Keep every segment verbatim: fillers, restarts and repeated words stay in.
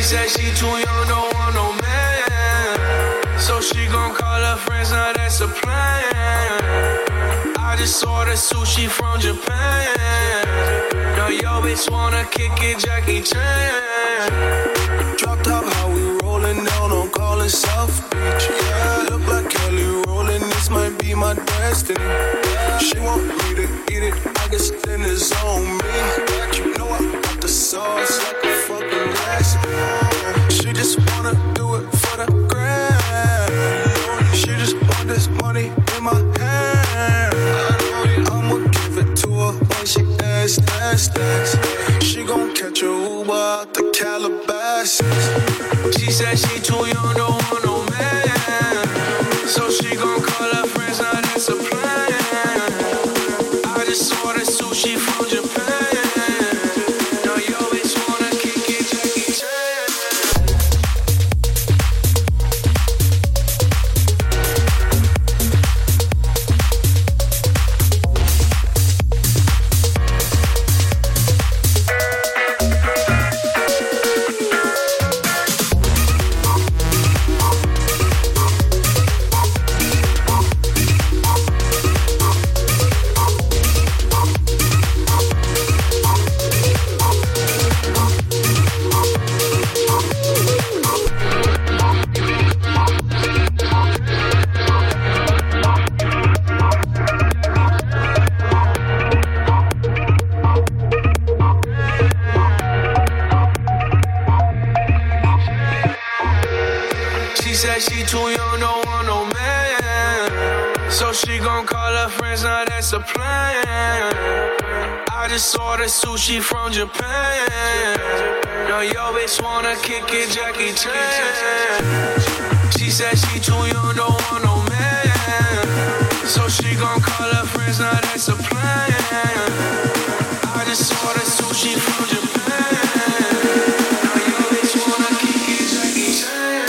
said she too young, don't want no man. So she gon' call her friends, now that's a plan. I just ordered sushi from Japan. Now yo bitch wanna kick it, Jackie Chan. Drop top, how we rollin' down on call it South Beach. Yeah, look like Kelly rollin', this might be my destiny. She want me to eat it, I guess then it's on me. You know I got the sauce like a fucking recipe. She just wanna do it for the grand. She just want this money in my hand. I'ma give it to her when she asks, asks, asks. She gon' catch a Uber out the Calabasas. She said she too young, don't want no man. So she gon' call her friends, now that's a plan. I just ordered sushi from Japan. Now yo bitch wanna kick it, Jackie Chan. She said she too young, don't want no man. So she gon' call her friends, now that's a plan. I just ordered sushi from Japan. Now yo bitch wanna kick it, Jackie Chan. She said she too young, don't want no man. So she gon' call her friends, now that's a plan. I just ordered sushi from Japan. Now yo bitch wanna kick it, Jackie Chan.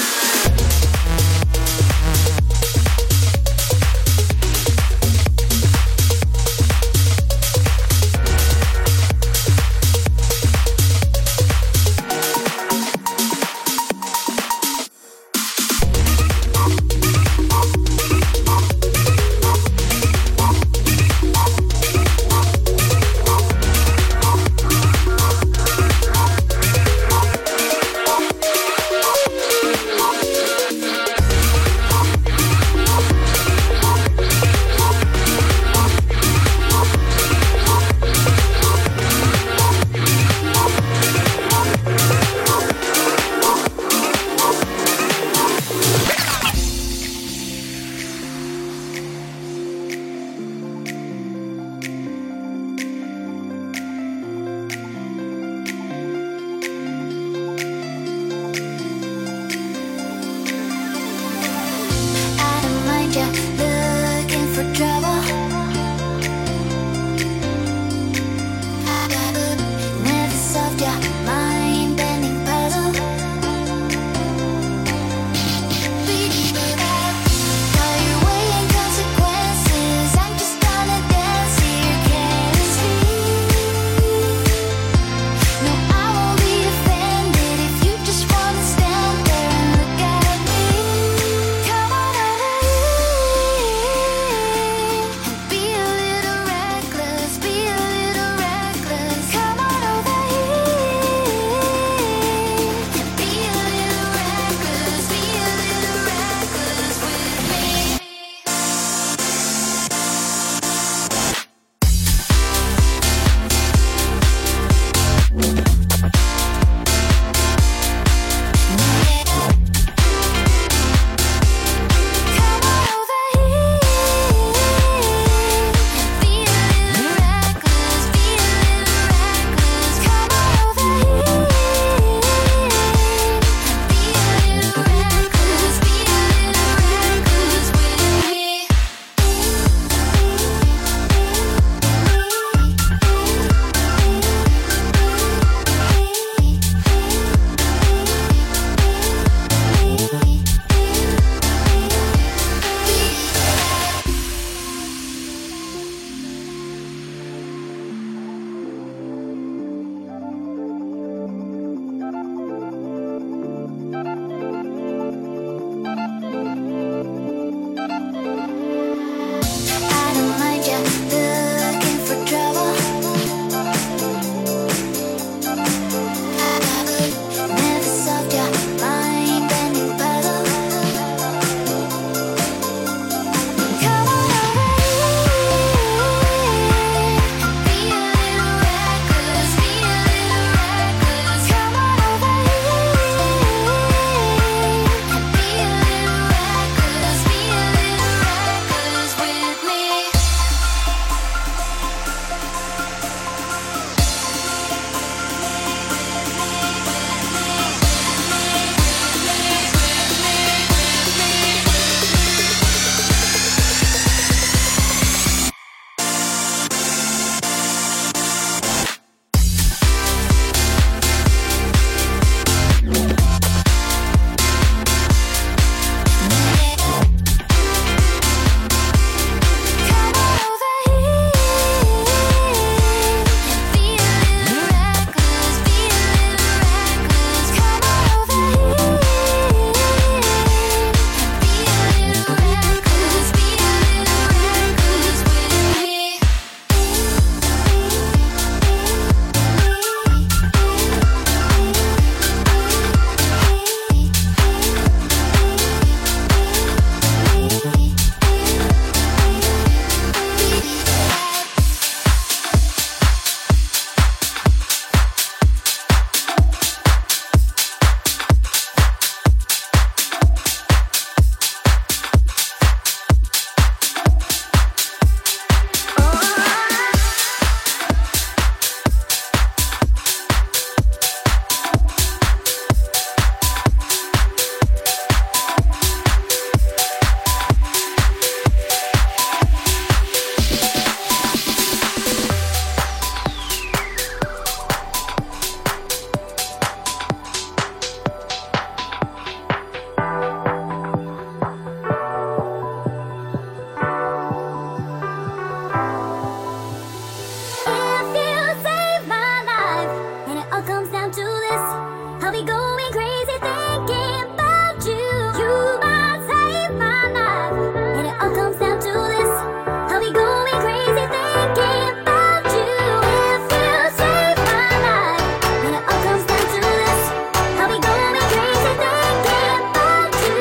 to this. I'll be going crazy thinking about you. You might save my life, and it all comes down to this. I'll be going crazy thinking about you. If you save my life, and it all comes down to this. I'll be going crazy thinking about you.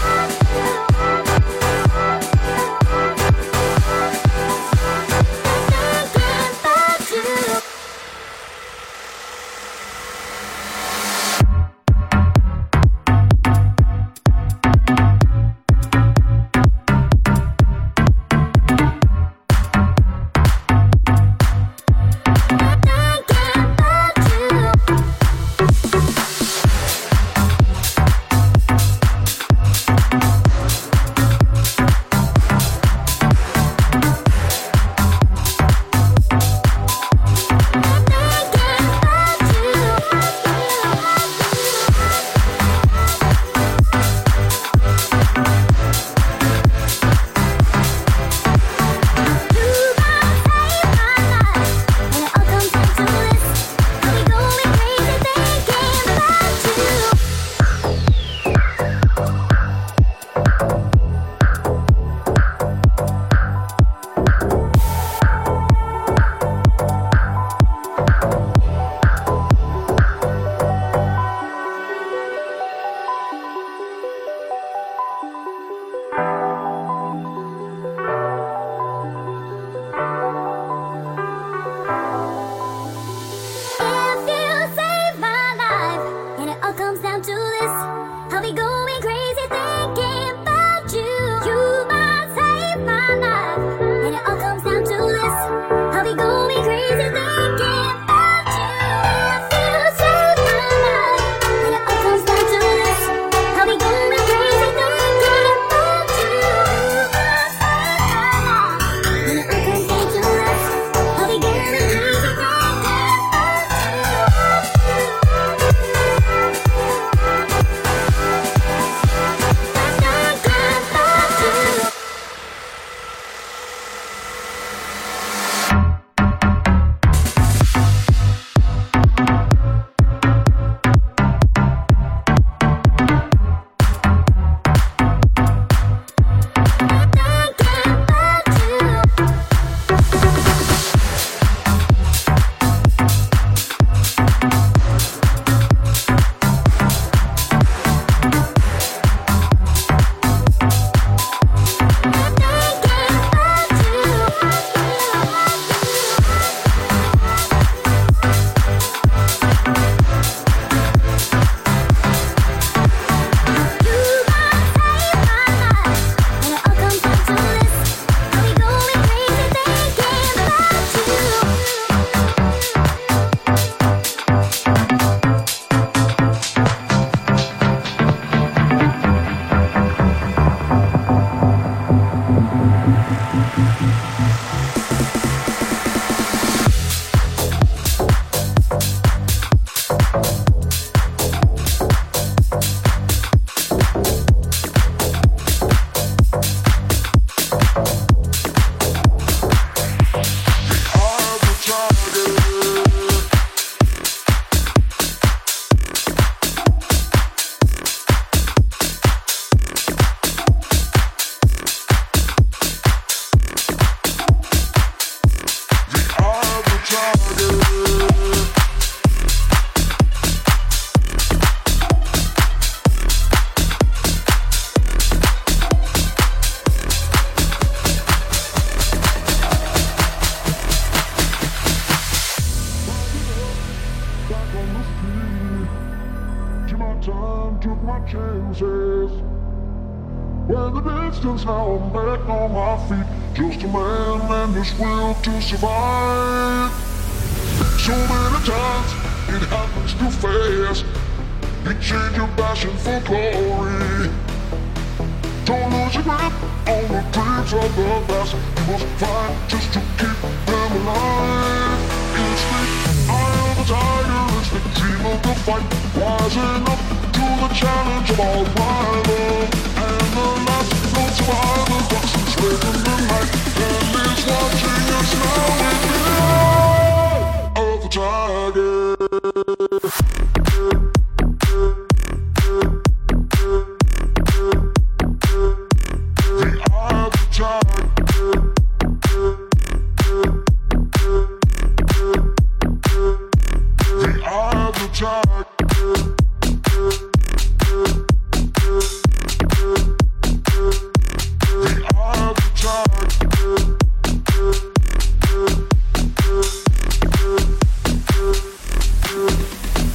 chances. When the distance, now I'm back on my feet. Just a man and his will to survive. So many times it happens too fast. You change your passion for glory. Don't lose your grip on the dreams of the past. You must fight just to keep them alive. It's the eye of the tiger, it's the dream of the fight. Rising up to the challenge of our rival. And the last known survivor walks and swears in the night. And is watching us now with the eye of the tiger.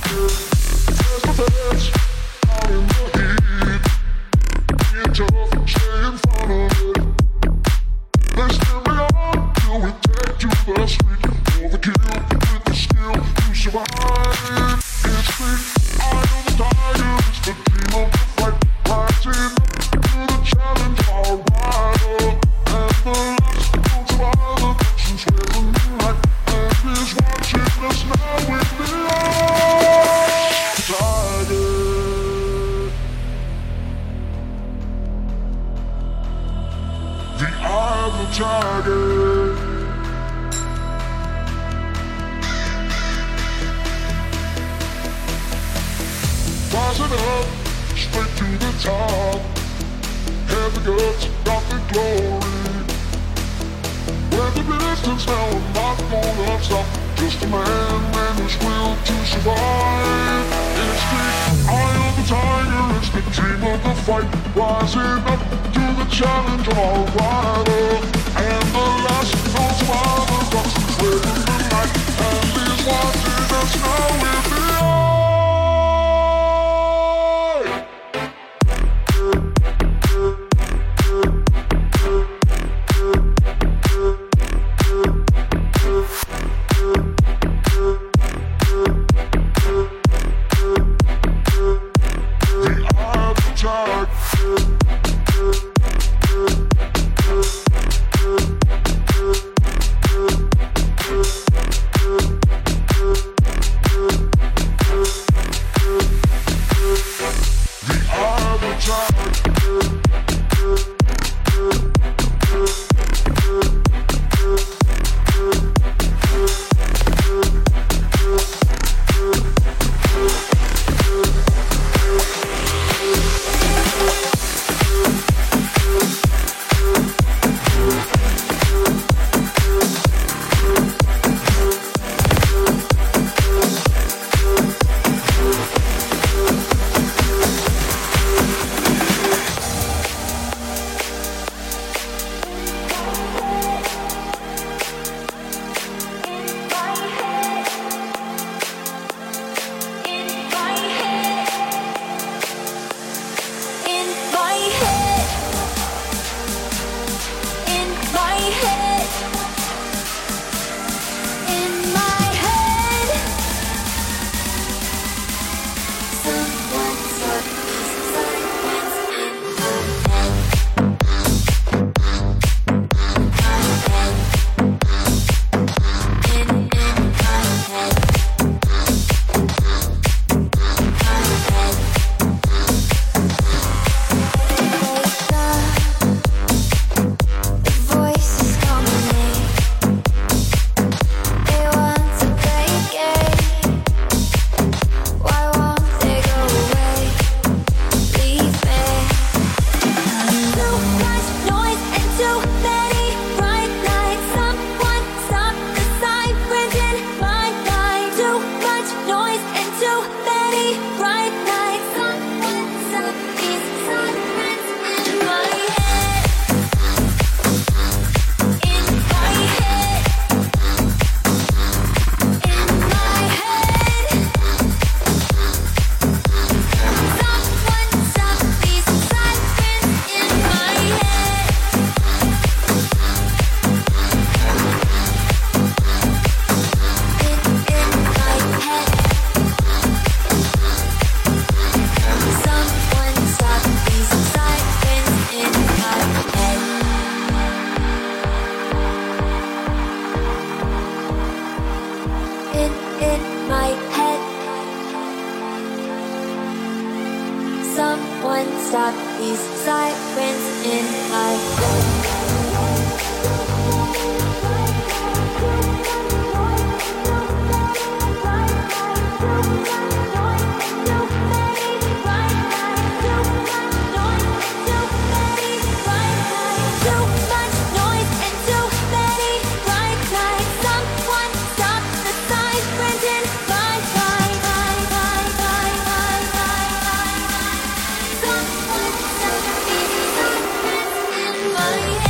stop these sirens in my head. My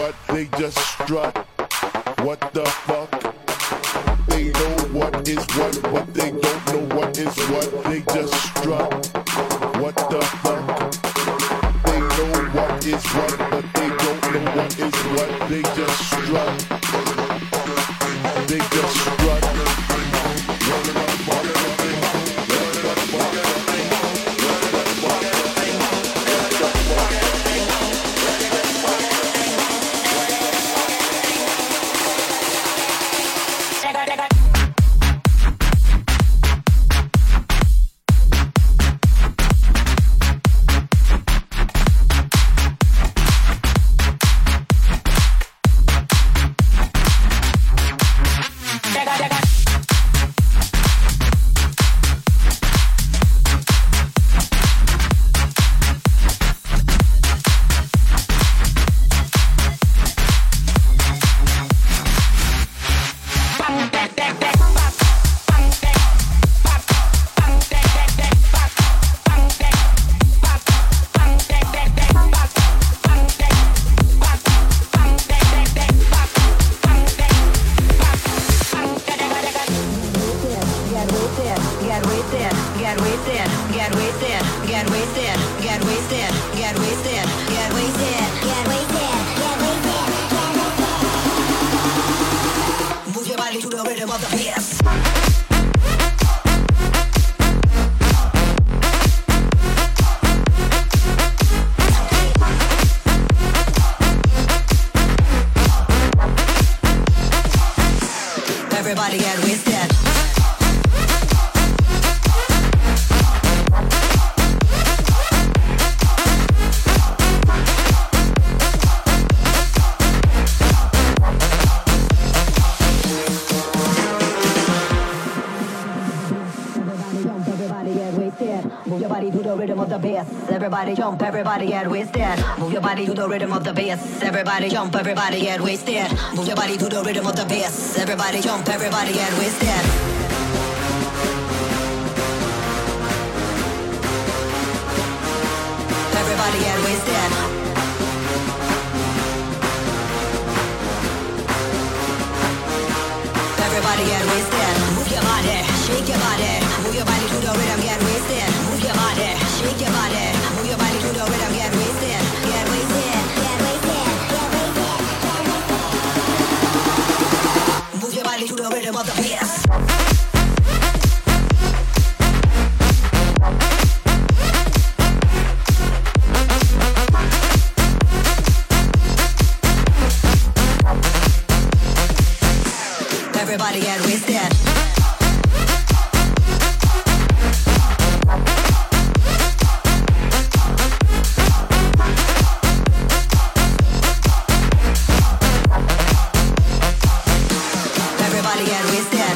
what? They just strut. What the fuck? They know what is what, but they don't know what is what. They just strut. What the fuck? They know what is what, but they don't know what is what. They just strut. They just strut. Everybody get wasted. Move your body to the rhythm of the bass. Everybody jump, everybody get wasted. Move your body to the rhythm of the bass. Everybody jump, everybody get wasted. Move your body to the rhythm of the bass. Everybody jump, everybody get wasted. Everybody get wasted. Everybody get wasted. Move your body, shake your body. Move your body to the rhythm, get wasted. Move your body, shake your body. Move your body to the rhythm, get wasted. Get wasted, get wasted, get wasted. Move your body to the rhythm of the bass. Everybody get wasted. Everybody get wasted.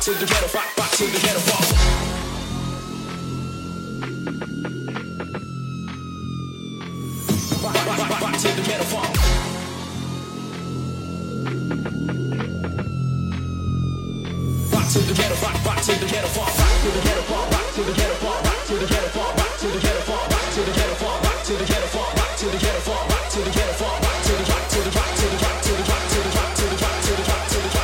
to the ghetto, rock, rock to the ghetto, rock. Rock, rock, rock, rock to the ghetto, rock. Rock to the ghetto, rock, rock to the ghetto, rock, rock to the ghetto, rock, rock to the ghetto, rock, rock to the ghetto, rock, rock to the ghetto, rock, rock to the ghetto, rock, rock to the ghetto, rock, rock to the ghetto, rock, rock to the ghetto, rock, rock to the rock to the rock to the rock to the rock to the rock to the rock to the rock to the rock.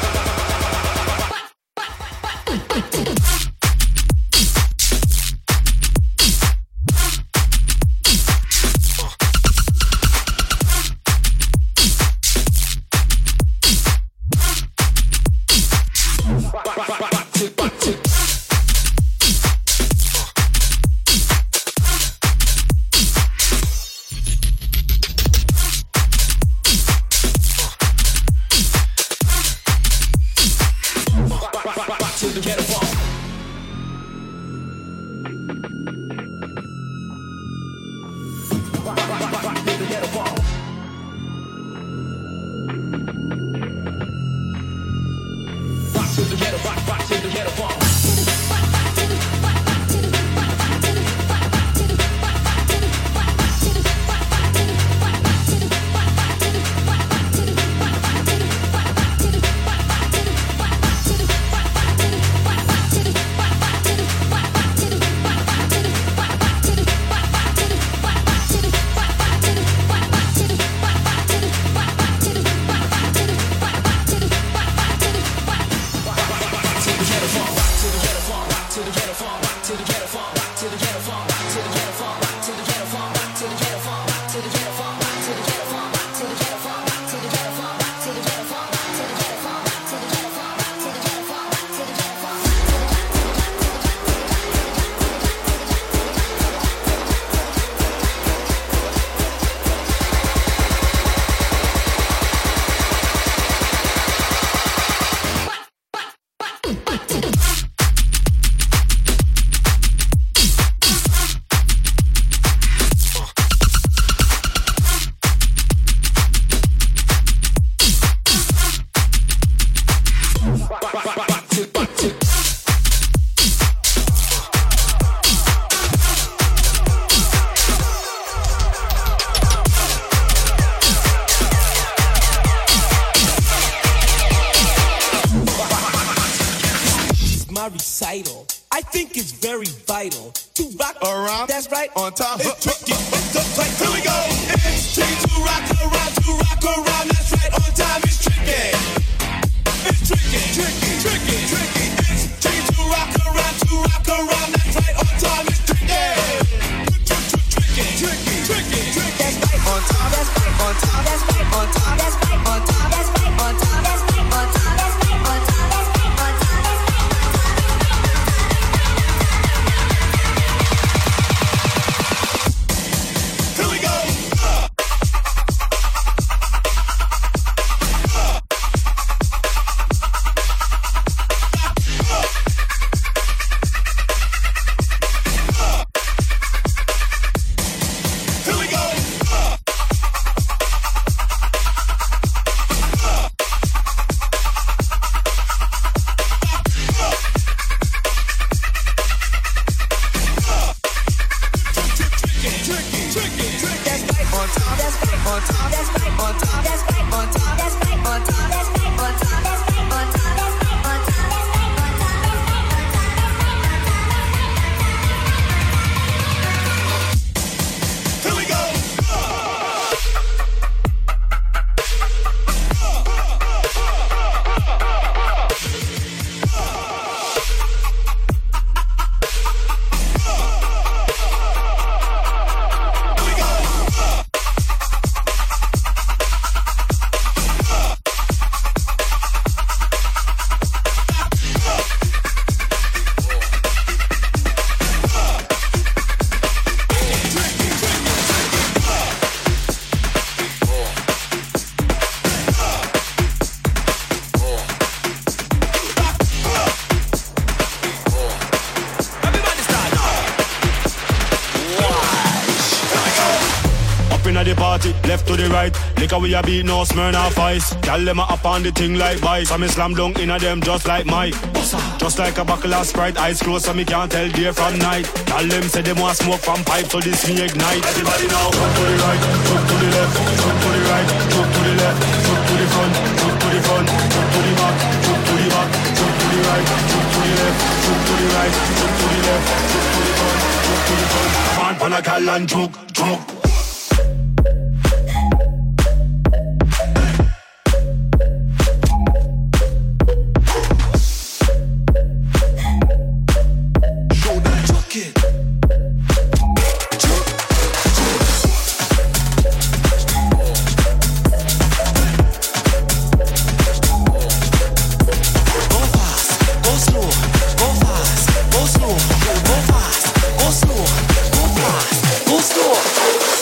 Recital. I think it's very vital to rock around. That's right. On time. It's tricky. It's just like, here we go. It's tricky to rock around, to rock around. That's right. On time. It's tricky. It's tricky, tricky, tricky, tricky. It's tricky to rock around, to rock around. That's right. On time. It's tricky. Tricky, tricky, tricky, tricky. That's right. On time. That's right. On time. That's right. On time. That's right. On time. That's right. On time. That's right. On time. That's right. On time. to the right. Liquor we a beat, no Smirnoff Ice. Tell them a up on the thing like vice. I me slam dunk in a them just like Mike. Just like a buckle of Sprite, eyes closed so me can't tell day from night. Tell them say them want smoke from pipe, so this me ignite. Everybody now, jump to the right, jump to the left, jump to the right, jump to the left, jump to the front, jump to the front, jump to the back, jump to the back, jump to the right, jump to the left, jump to the right, jump to the left, jump to the front, jump to the front. Come on, pan a cal and choke, choke. Go slow.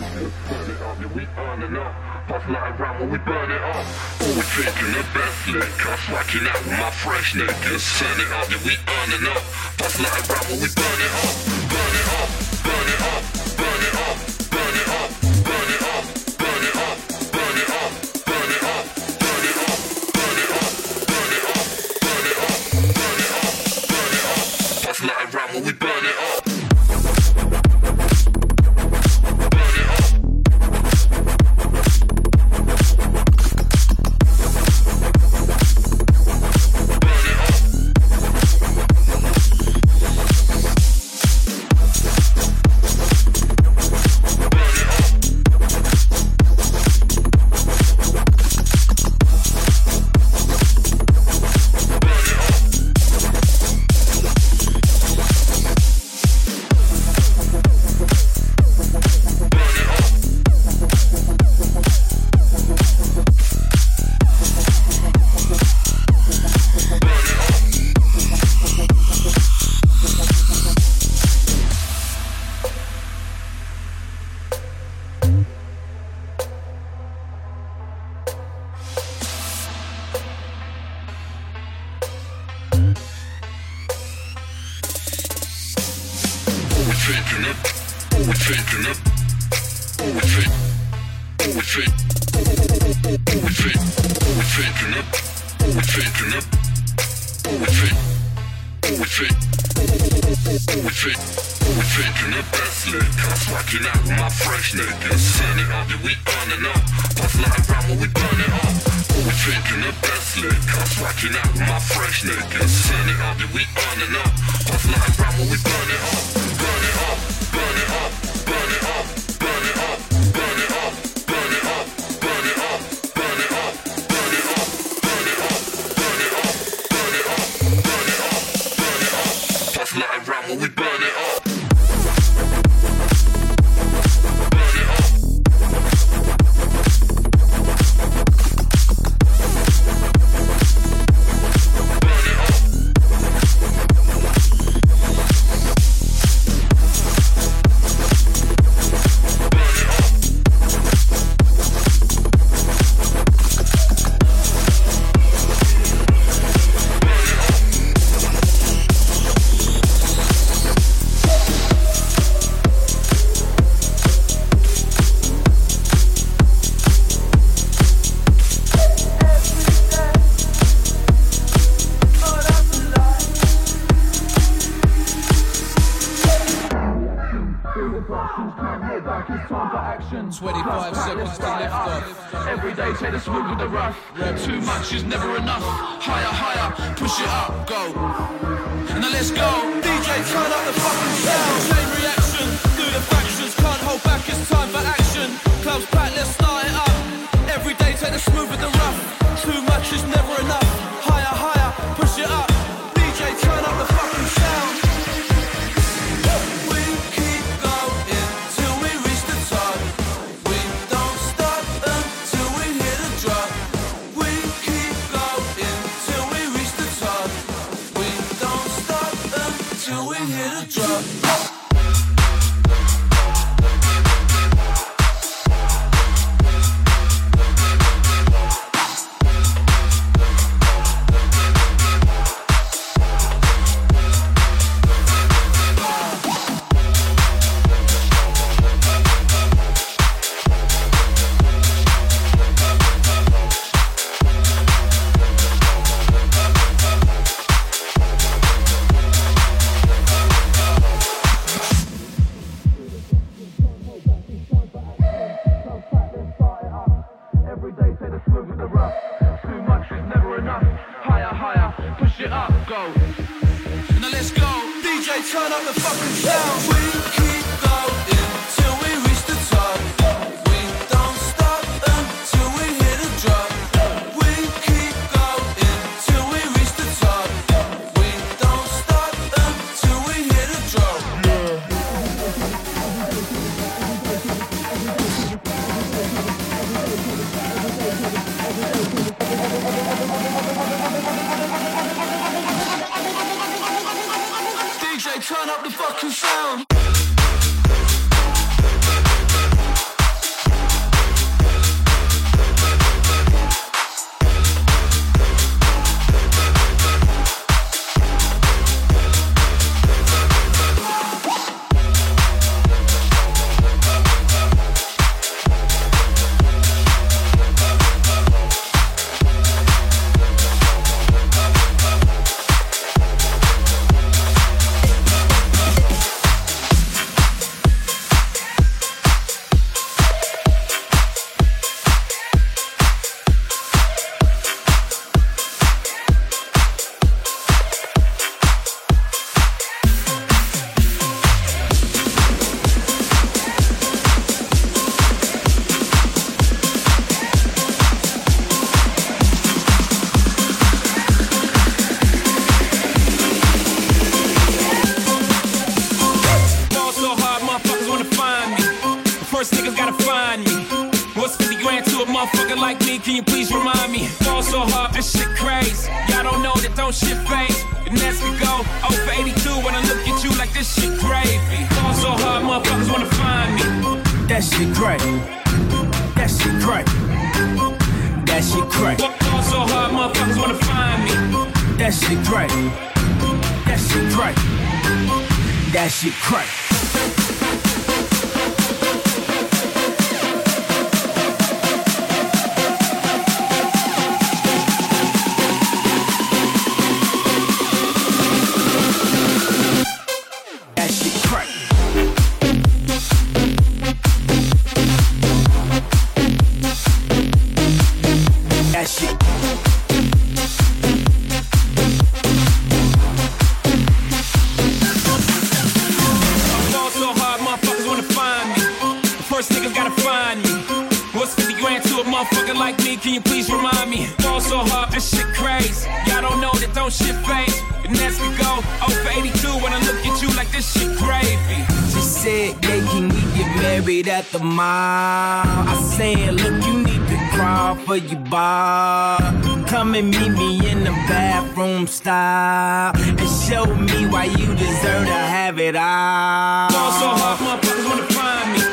Burn it up, yeah, we earning up. Puff like round when we burn it up. Always taking the best liquor, swatching out with my fresh niggas. Turn it up, yeah, we earning up. Puff like round when we burn it up. Burn it up, burn it up, burn it up, burn it up, burn it up, burn it up, burn it up, burn it up, burn it up, burn it up, burn it up, burn it up, burn it up, burn it up. Puff like round when we burn it up. twenty-five seconds to lift off. Every day take the smooth with the rough. Too much is never enough. Higher, higher, push it up, go. And then let's go. D J, turn up the fucking sound. Chain reaction, do the factions. Can't hold back, it's time for action. Clubs back, let's start it up. Every day take the smooth with the rough. Too much is never enough. Higher, higher, push it up. D J, turn up the fucking sound. Turn up the fucking sound. We keep going till we reach the top. We don't stop until we hit a drop. We keep going till we reach the top. We don't stop until we hit a drop. D J, turn up the fucking sound. find me? What's fifty grand to a motherfucker like me? Can you please remind me? Fall so hard, this shit crazy. Y'all don't know that don't shit phase. The Nets could go oh for eighty-two when I look at you like this shit gravy. Fall so hard, motherfuckers wanna find me. That shit crack. That shit crack. That shit crack. Fall so hard, motherfuckers wanna find me. That shit crack. That shit crack. That shit crack. Can you please remind me? Fall so hard, this shit crazy. Y'all don't know that don't shit phase. The Nets could go oh for eighty-two when I look at you like this shit gravy. She said, yeah, can we get married at the mall? I said, look, you need to crawl for your bar. Come and meet me in the bathroom style and show me why you deserve to have it all. Fall so hard, motherfuckers wanna find me.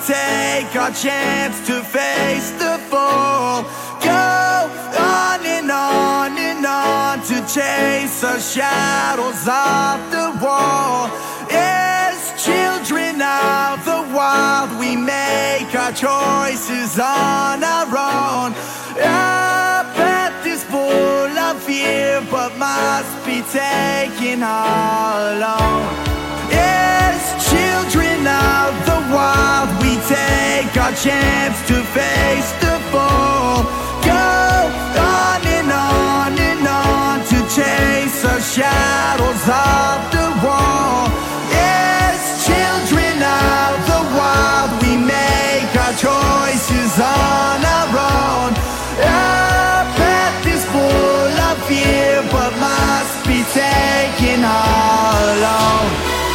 take our chance to face the fall. Go on and on and on to chase the shadows off the wall. As children of the wild, we make our choices on our own. Our path is full of fear, but must be taken all alone. As children of the wild, we take our chance to face the fall. Go on and on and on to chase the shadows of the wall. As children of the wild, we make our choices on our own. Our path is full of fear, but must be taken all alone.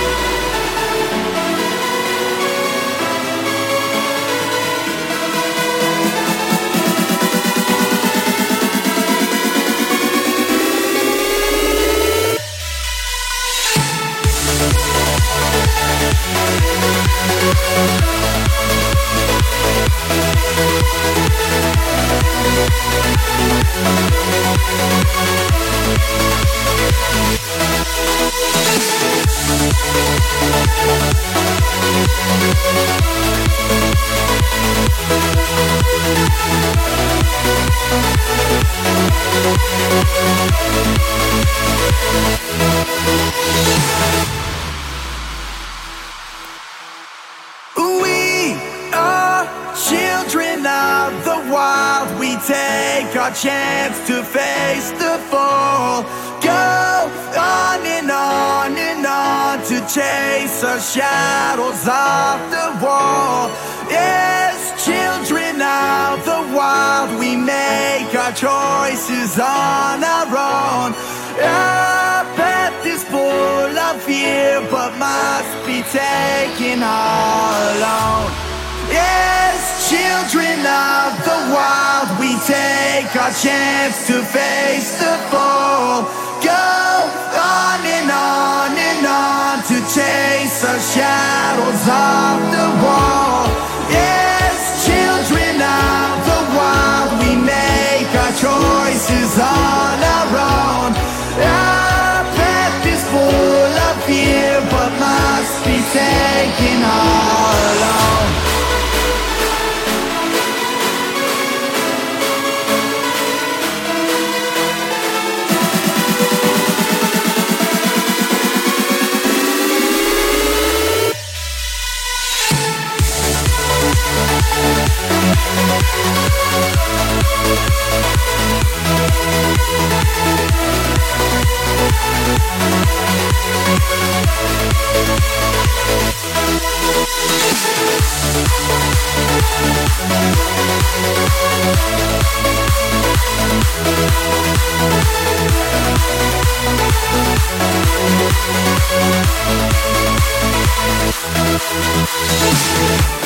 We are children of the wild. We take our chance to face the fall. Go on and on and on to chase the shadows off the wall. As children of the wild, we make our choices on our own. Our path is full of fear, but must be taken all alone. As children of the wild, we take our chance to face the fall. Go on and on and on to chase the shadows of the wall. As children of the wild, we make our choices on our own. Our path is full of fear, but must be taken all alone. We'll be right back.